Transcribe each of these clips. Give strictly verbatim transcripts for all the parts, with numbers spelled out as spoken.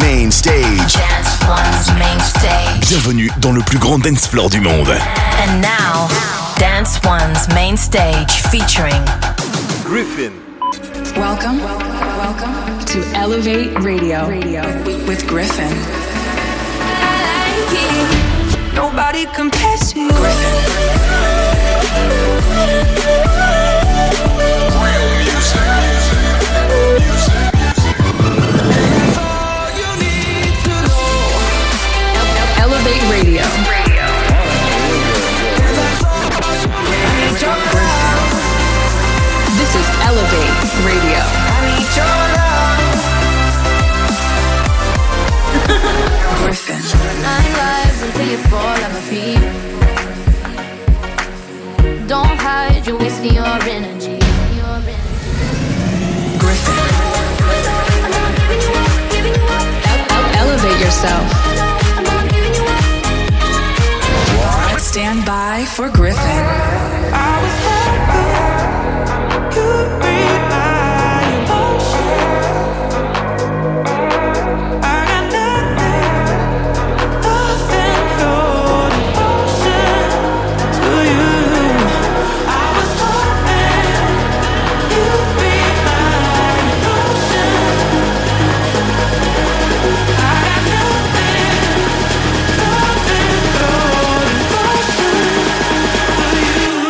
main stage. Dance One's main stage. Bienvenue dans le plus grand dance floor du monde. And now, Dance One's main stage featuring Griffin. Welcome, welcome to Elevate Radio, Radio with, with Griffin. I like it. Nobody compares to you. Griffin. Real music, music, music, music. All you need to know. Elevate Radio. Radio. This is Elevate Radio. I need your love. Griffin. Nine lives until you fall at my feet. Don't hide, you're wasting your energy. Your energy. Griffin. Elevate yourself. Stand by for Griffin. I was hoping you'd read my emotions. I got nothing, nothing but devotion to you. I was hoping you'd read my emotions. I got nothing, nothing but devotion to you.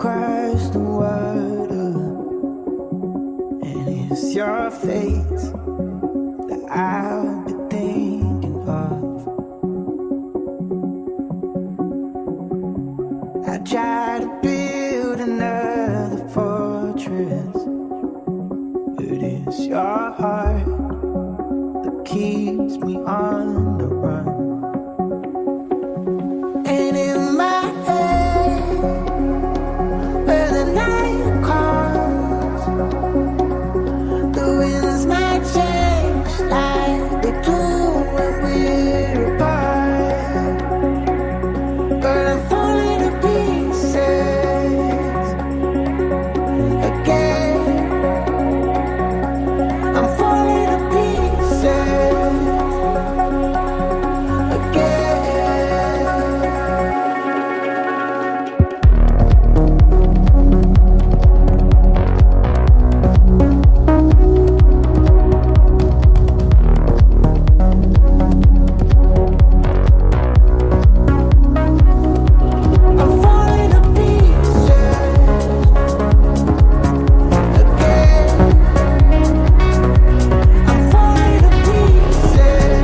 across the water, and it's your face that I'll be thinking of. I try to build another fortress, but it's your heart that keeps me on the run. And in my head, where the night comes, the winds might change like they do when we're apart. But I'm falling to pieces again. I'm falling to pieces again. I'm falling to pieces again. I'm falling to pieces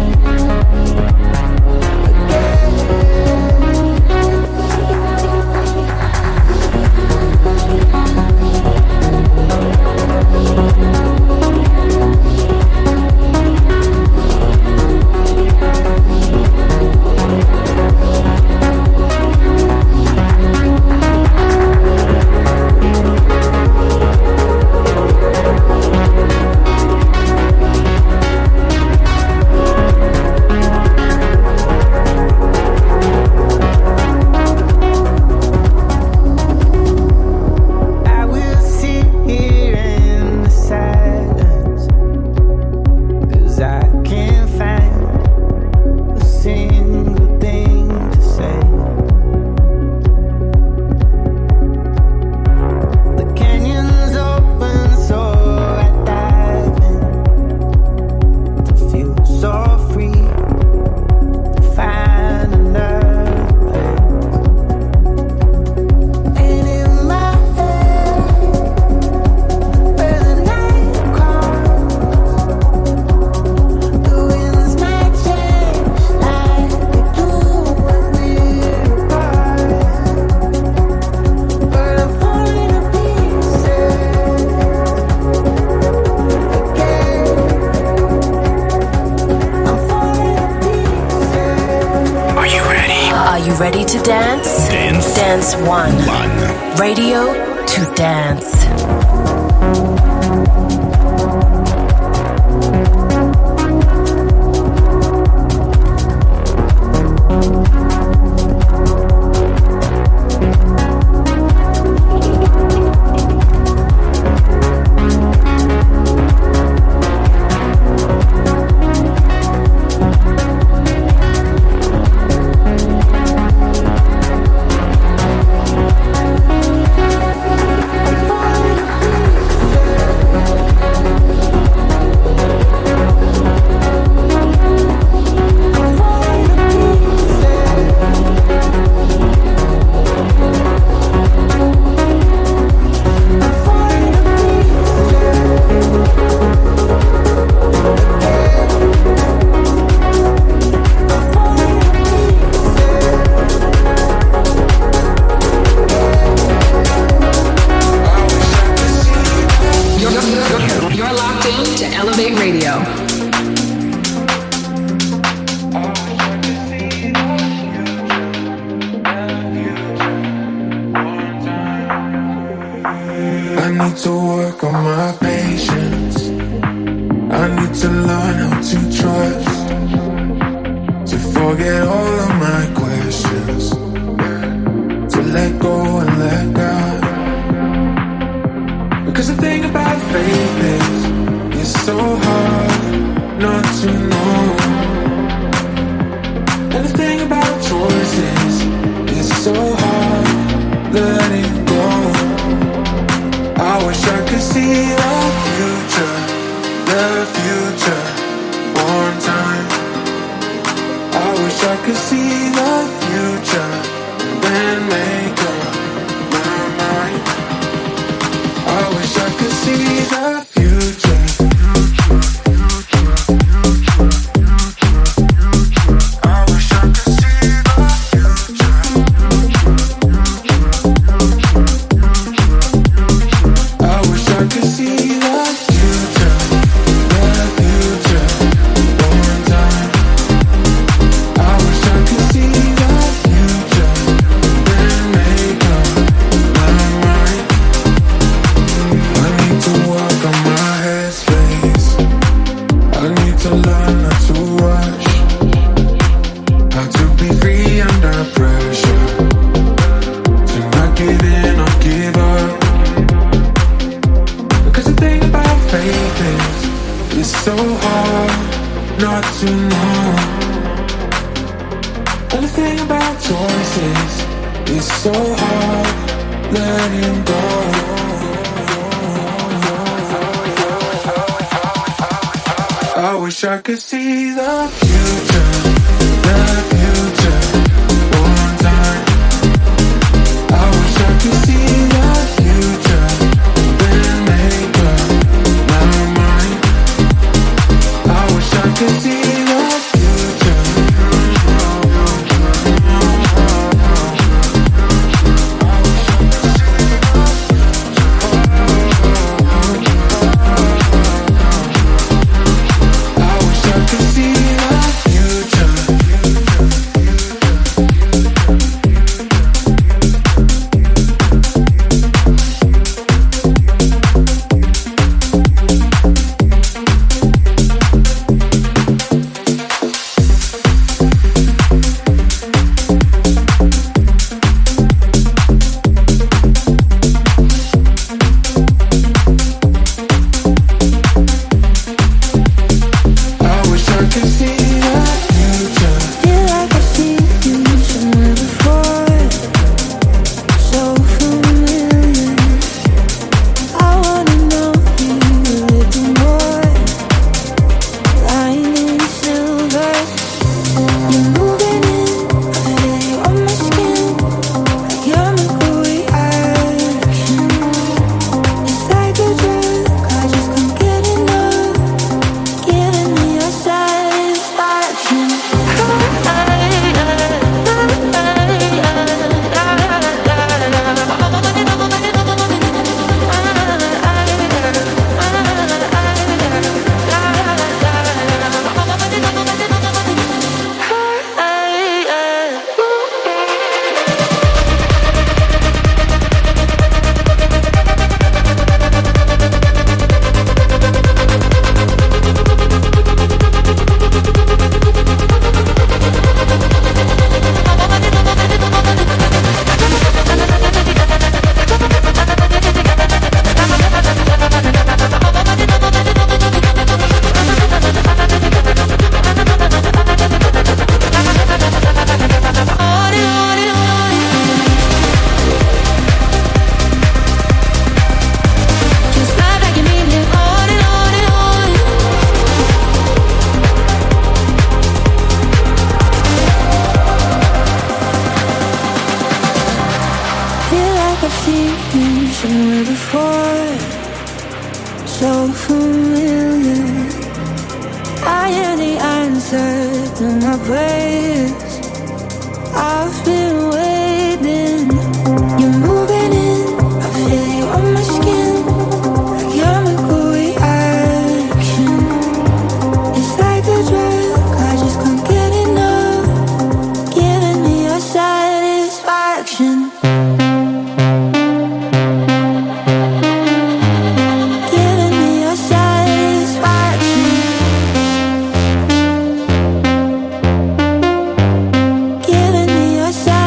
I will sit here in the silence, 'cause I can't find a single thing to say. The canyon's open, so I dive in to feel so free, to find another place. And in my head, where the night comes, the winds might change like they do when we're apart. But I'm falling to pieces again. I'm falling to pieces. Are you ready? Are you ready to dance? Dance. Dance One. One. Radio to dance. You're, you're, you're locked in to Elevate Radio. I need to work on my patience. I need to learn how to trust, to forget all of my questions, to let go and let God. Because the thing about faith is, it's so hard not to know. And the thing about choices, it's so hard letting go. I wish I could see the future, the future, one time. I wish I could see the future, then make up my mind. letting go. I wish I could see the future, the future, one time. I wish I could see the future, then make up my mind. I wish I could see the future. I wish I could see the future. I wish I could see the future. Feel like I've seen you somewhere before, so familiar. I wanna know you a little more. Lying in silver, you're moving in. I feel you on my skin, like chemical reaction. It's like a drug, I just can't get enough. Giving me your satisfaction. Just love like you mean it on and on and on. Feel like I've seen you somewhere before, so familiar. I am the answer to my prayers. I've been waiting. You're moving in. I feel you on my skin, like chemical reaction. It's like a drug, I just can't get enough. Giving me your satisfaction. Giving me your satisfaction. Giving me your satisfaction.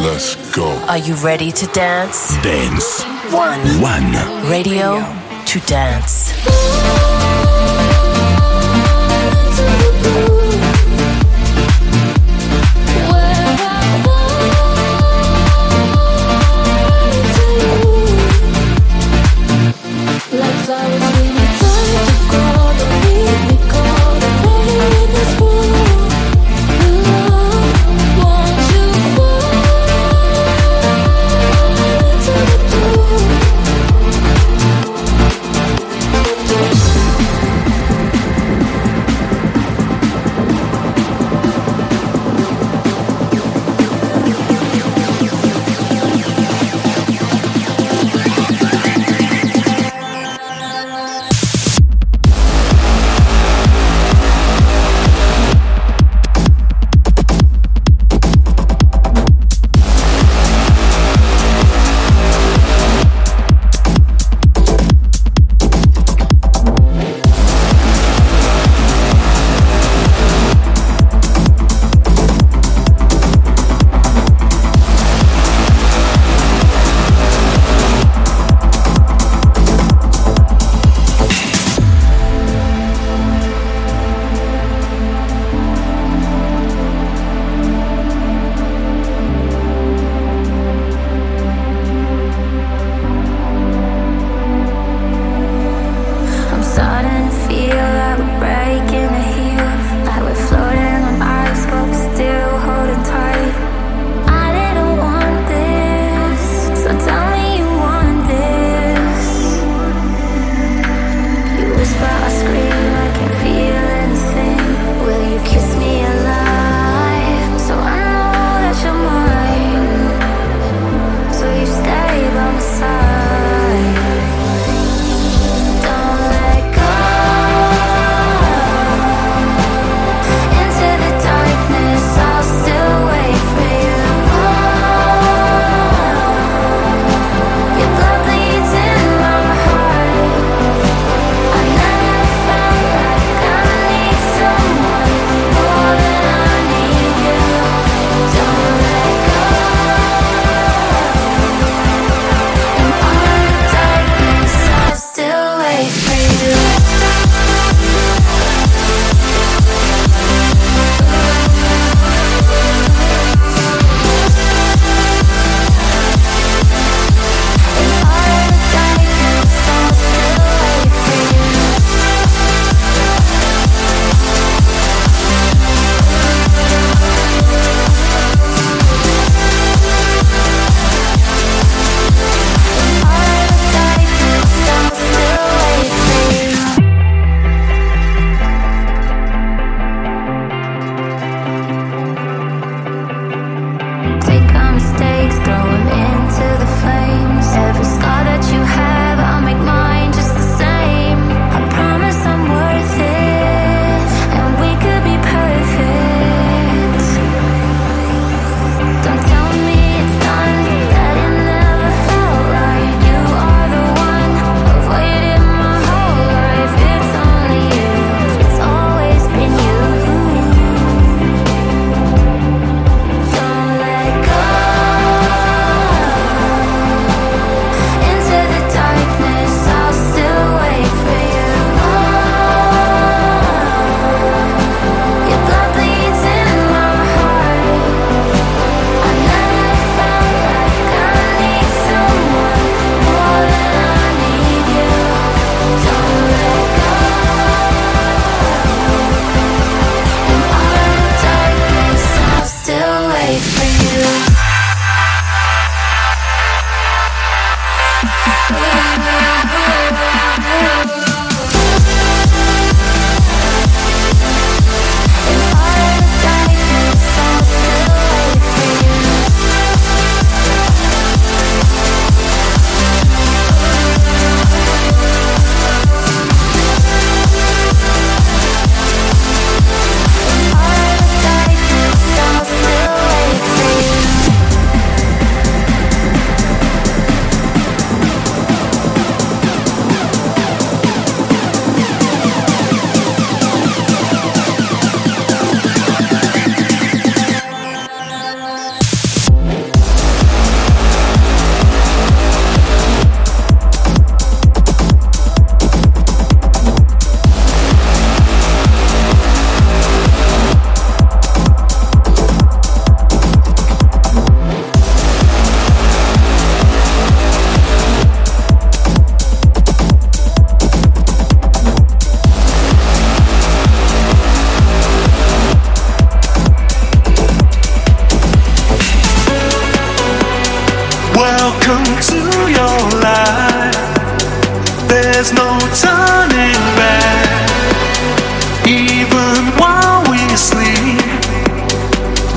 Let's go. Are you ready to dance? Dance One. One. Radio to dance. We'll be right back.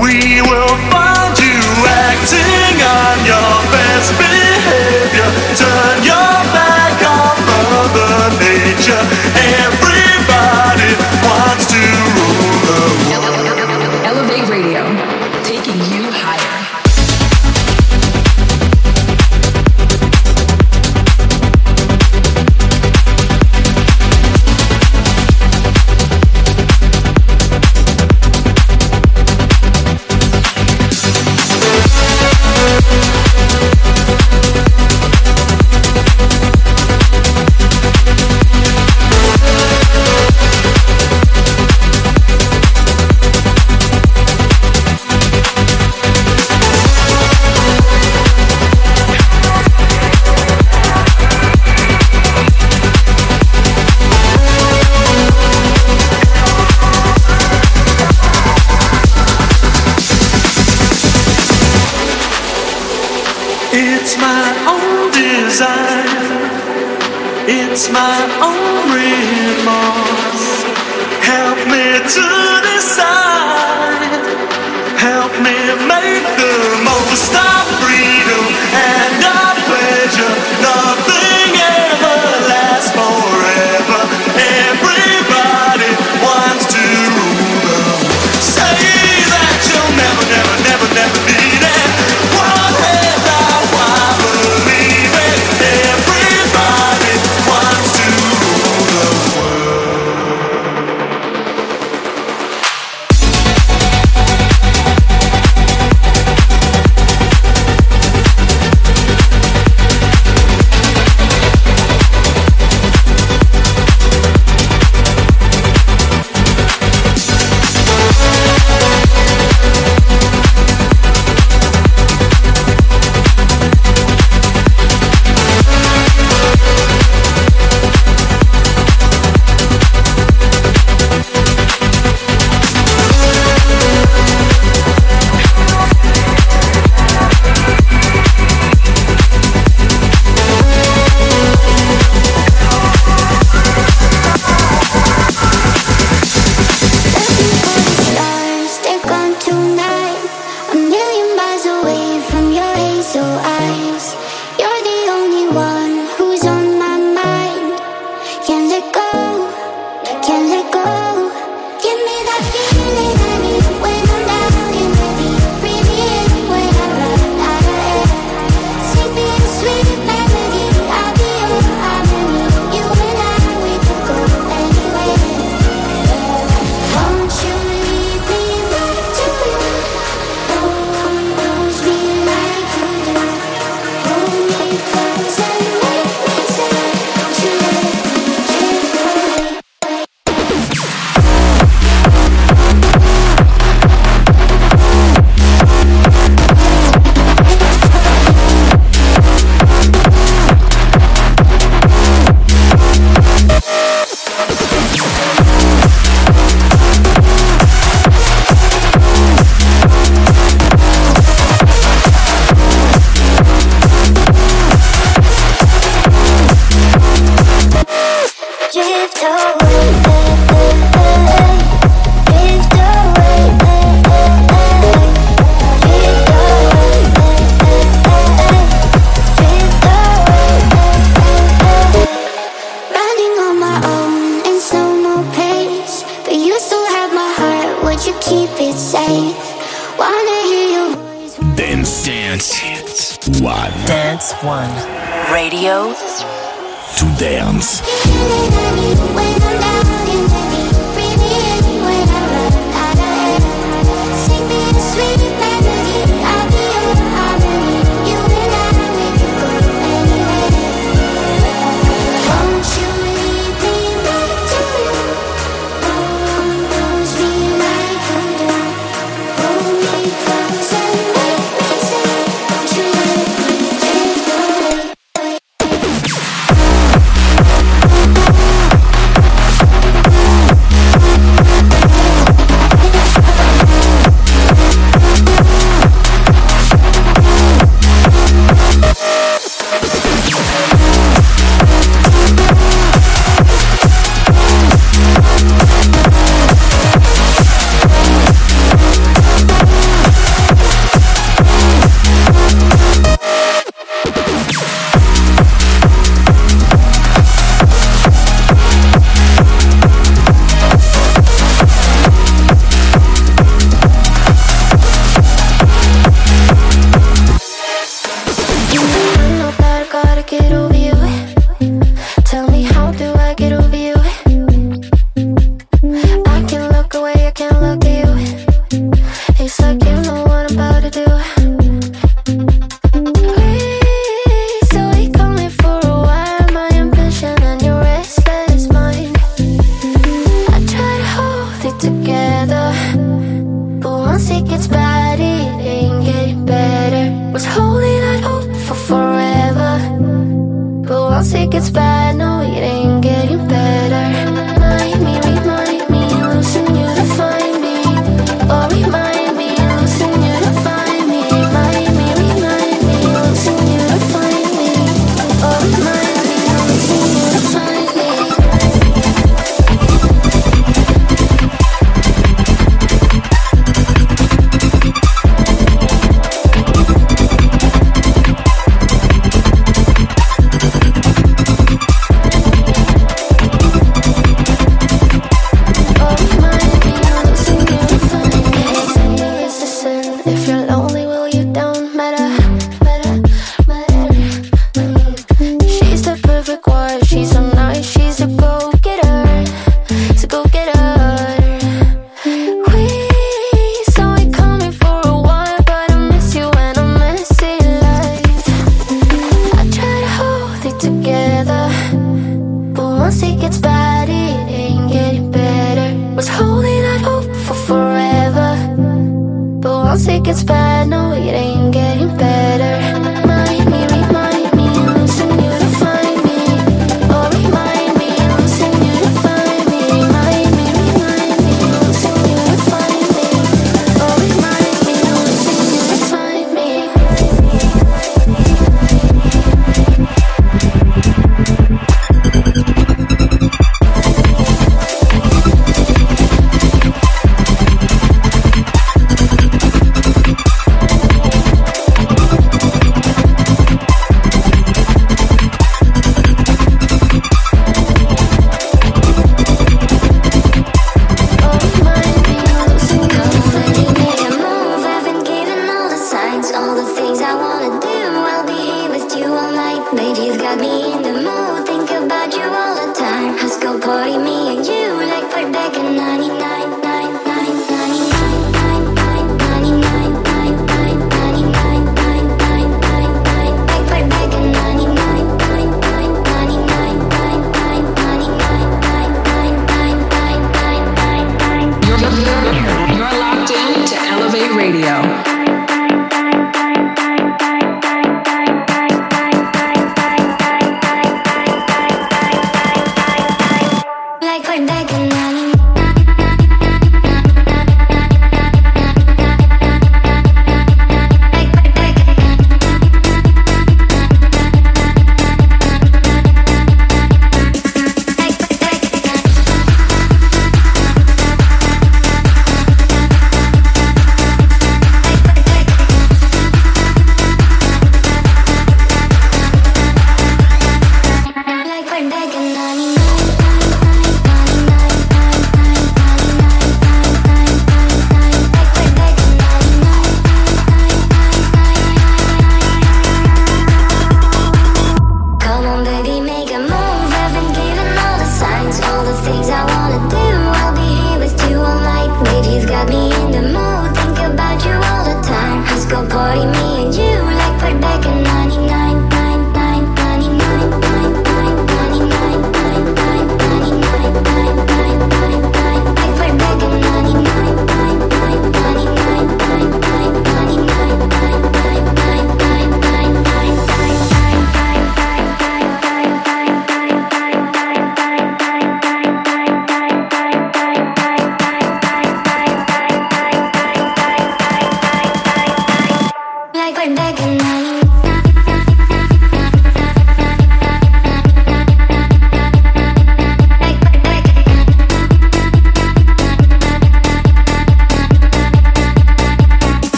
We will find you acting on your best behavior. Turn your back on Mother Nature. Everybody wants to rule the world. Elevate Radio, taking you higher. It's my own design. It's my own remorse. Help me to decide. Help me make the most of freedom and of pleasure. Nothing ever lasts forever. Everybody wants to rule the world. Say that you'll never, never, never, never need it. What have I? Why believe it? Everybody wants to rule the One. Dance One. Radio to dance. it gets bad, no, it ain't getting better. Remind me, remind me, losing you to find me. Oh, remind me, losing you to find me. Remind me, remind me, losing you to find me. Oh, remind me, losing you to find me. Like we're begging.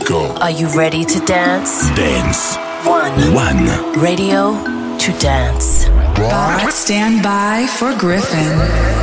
Go. Are you ready to dance? Dance. One. One. Radio to dance. Right. Stand by for Griffin.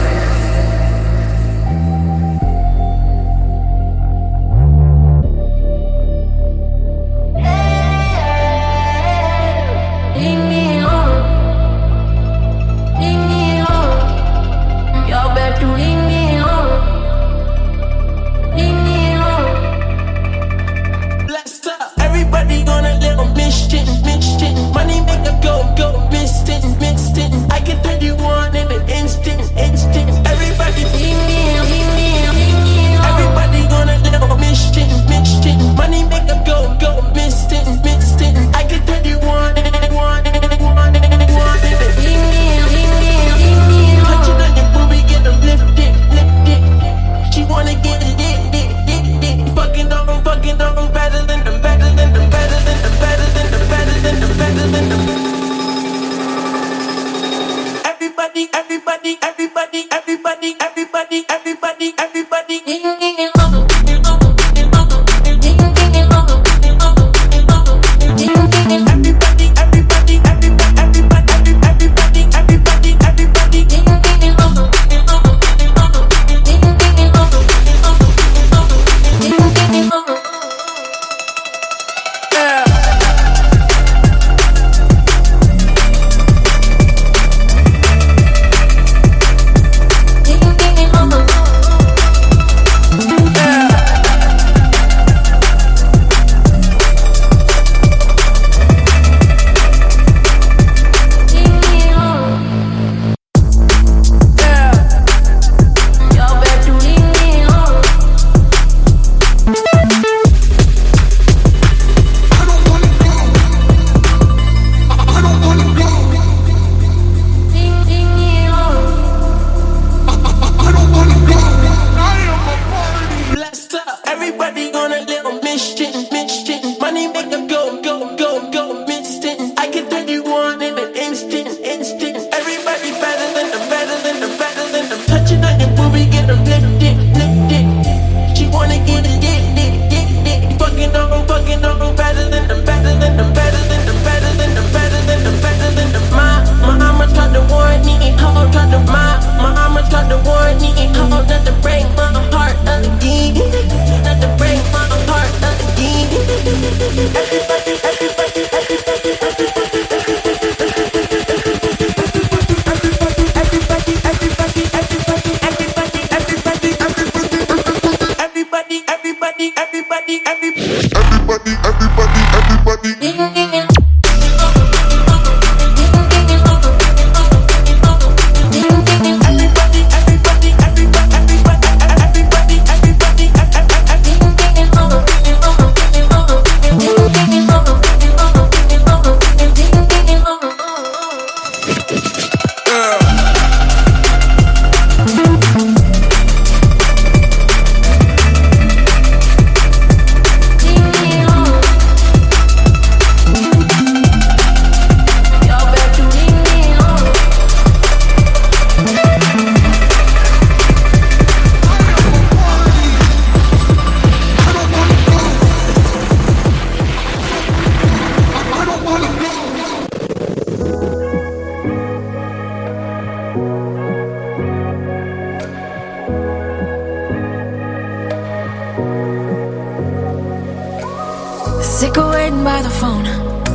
Sick of waiting by the phone.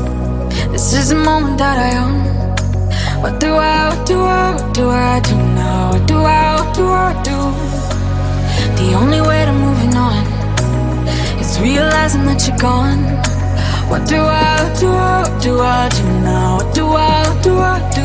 This is the moment that I own. What do I, what do I, what do I do now? What do I, what do I do? The only way to moving on is realizing that you're gone. What do I, what do I, what do I do now? What do I, what do I do?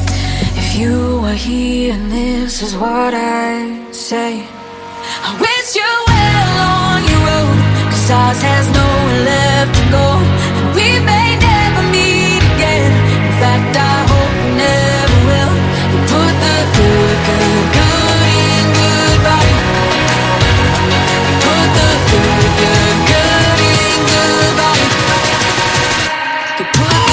If you were here and this is what I say, I wish you well on your road, 'cause ours has nowhere left to go, and we may never meet again. In fact, I hope we never will. You put the good, good, good in goodbye. You put the good, good, good in goodbye. You put the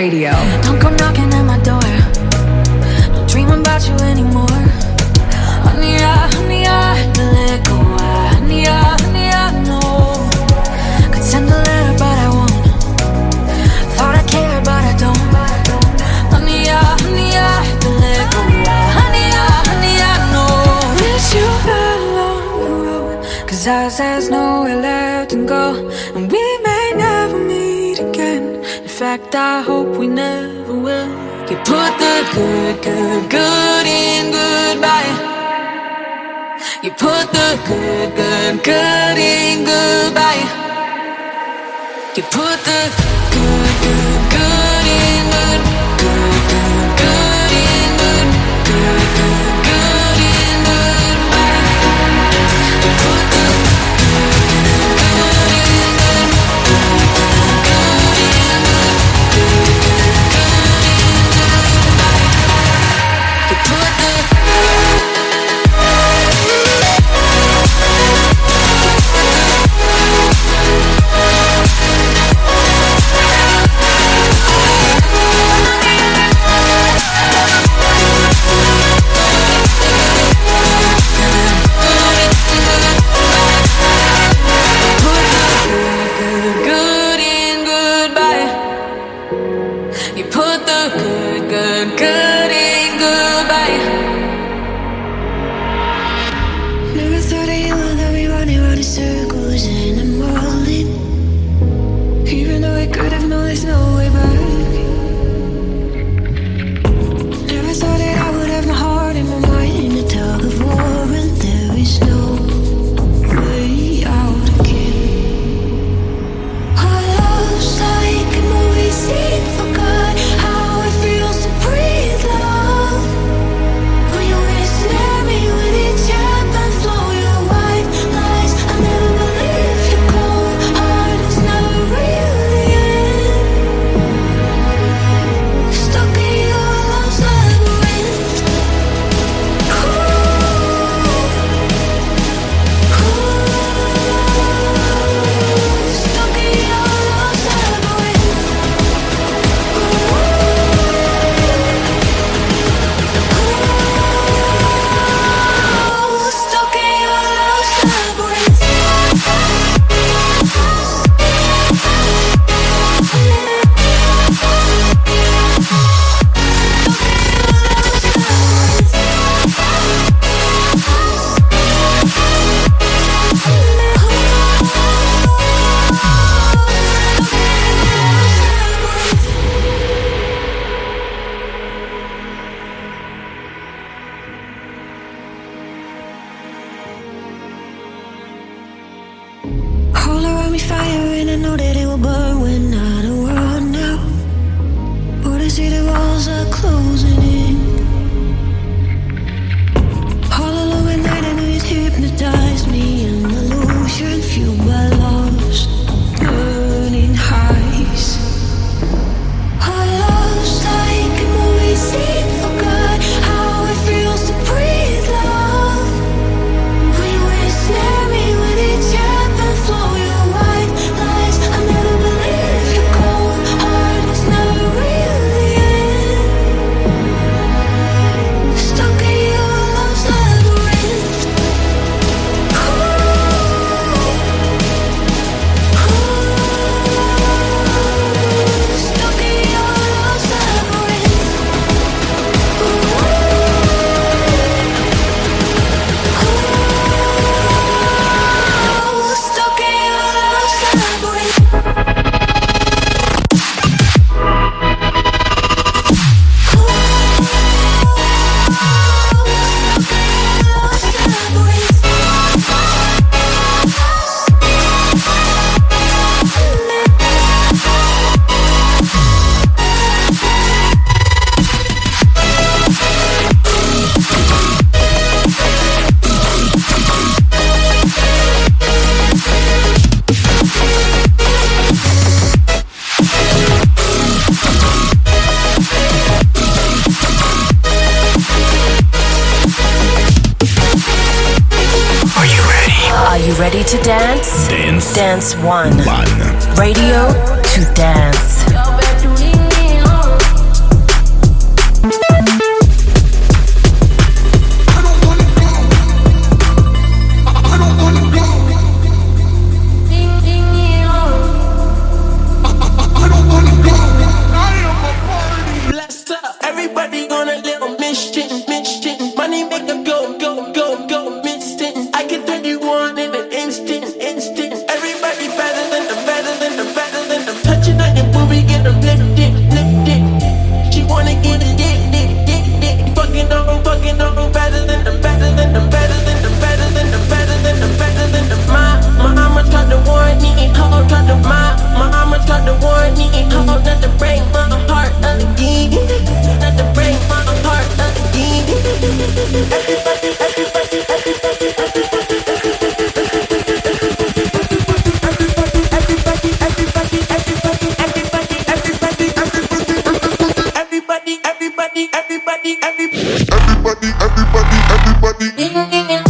Radio. Don't come knocking at my door. Don't dream about you anymore. Honey, I, honey, I had to let go. I, honey, I, honey, I know. Could send a letter, but I won't. Thought I cared, but I don't. Honey, I, honey, I had to let go. I, honey, I, honey, I know. Wish you had a long road, 'cause ours has nowhere left to go. And we may never meet again. In fact, I hope we never will. You put the good, good, good in goodbye. You put the good, good, good in goodbye. You put the good, good, good in good, good, good, good in good, good, good, good in goodbye. You put the good, good, good in good, good, good, good in good, good, good, good in goodbye. You put the Ready to dance? Dance. Dance one. One. Radio to dance. Yo, back to me, oh. everybody, everybody, everybody, everybody, everybody, everybody.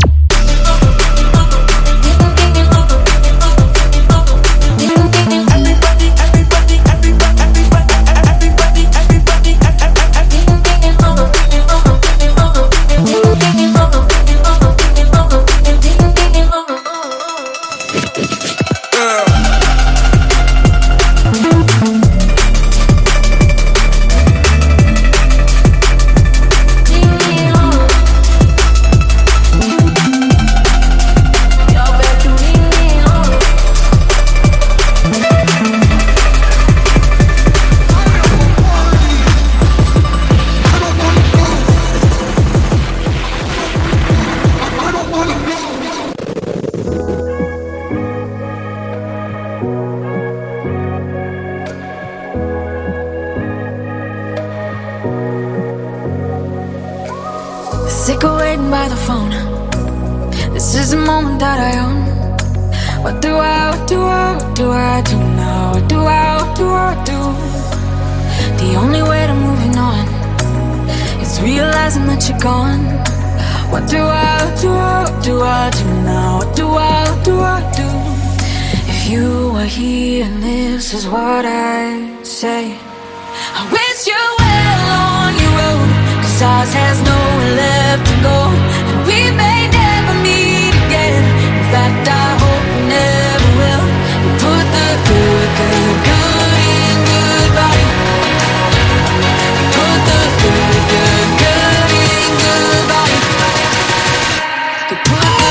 Sick of waiting by the phone. This is the moment that I own. What do I, what do I, what do I do now? What do I, what do I do? The only way to moving on is realizing that you're gone. What do I, what do I, what do I do now? What do I, what do I do? If you were here and this is what I say, I wish you well on your road, 'cause ours has nowhere left to go, and we may never meet again. In fact, I hope we never will. You put the good, good, good in goodbye. You put the good, good, good in goodbye. You put the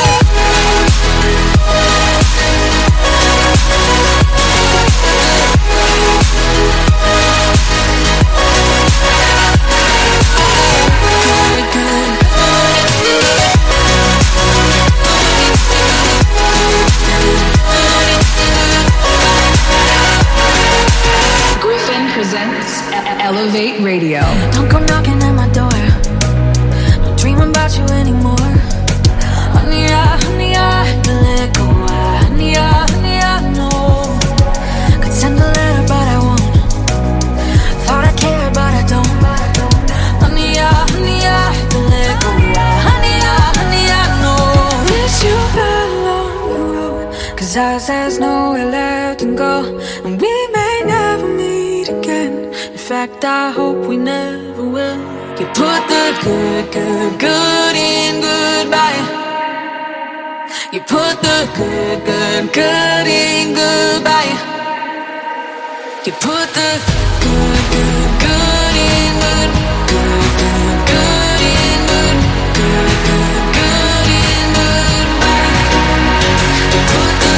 Presents Elevate Radio. Don't come knocking at my door. Don't dream about you anymore. Honey, I, honey, I had to let go. I, honey, I, honey, I know. Could send a letter, but I won't. Thought I cared, but I don't. Honey, I, honey, I had to let go. I, honey, I, honey, I know. Wish you well on the road, 'cause ours has nowhere left to go, and we may never meet again. In fact, I hope we never will. You put the good, good, good in goodbye. You put the good, good, good in goodbye. You put the good, good, good in good, good, good, good in good, good, good, good in goodbye. You put the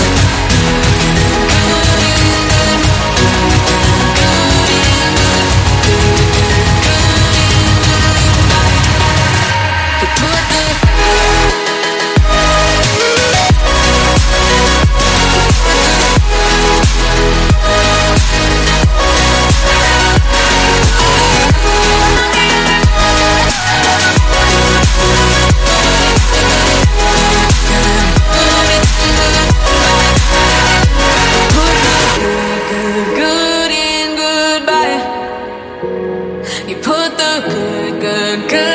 good, good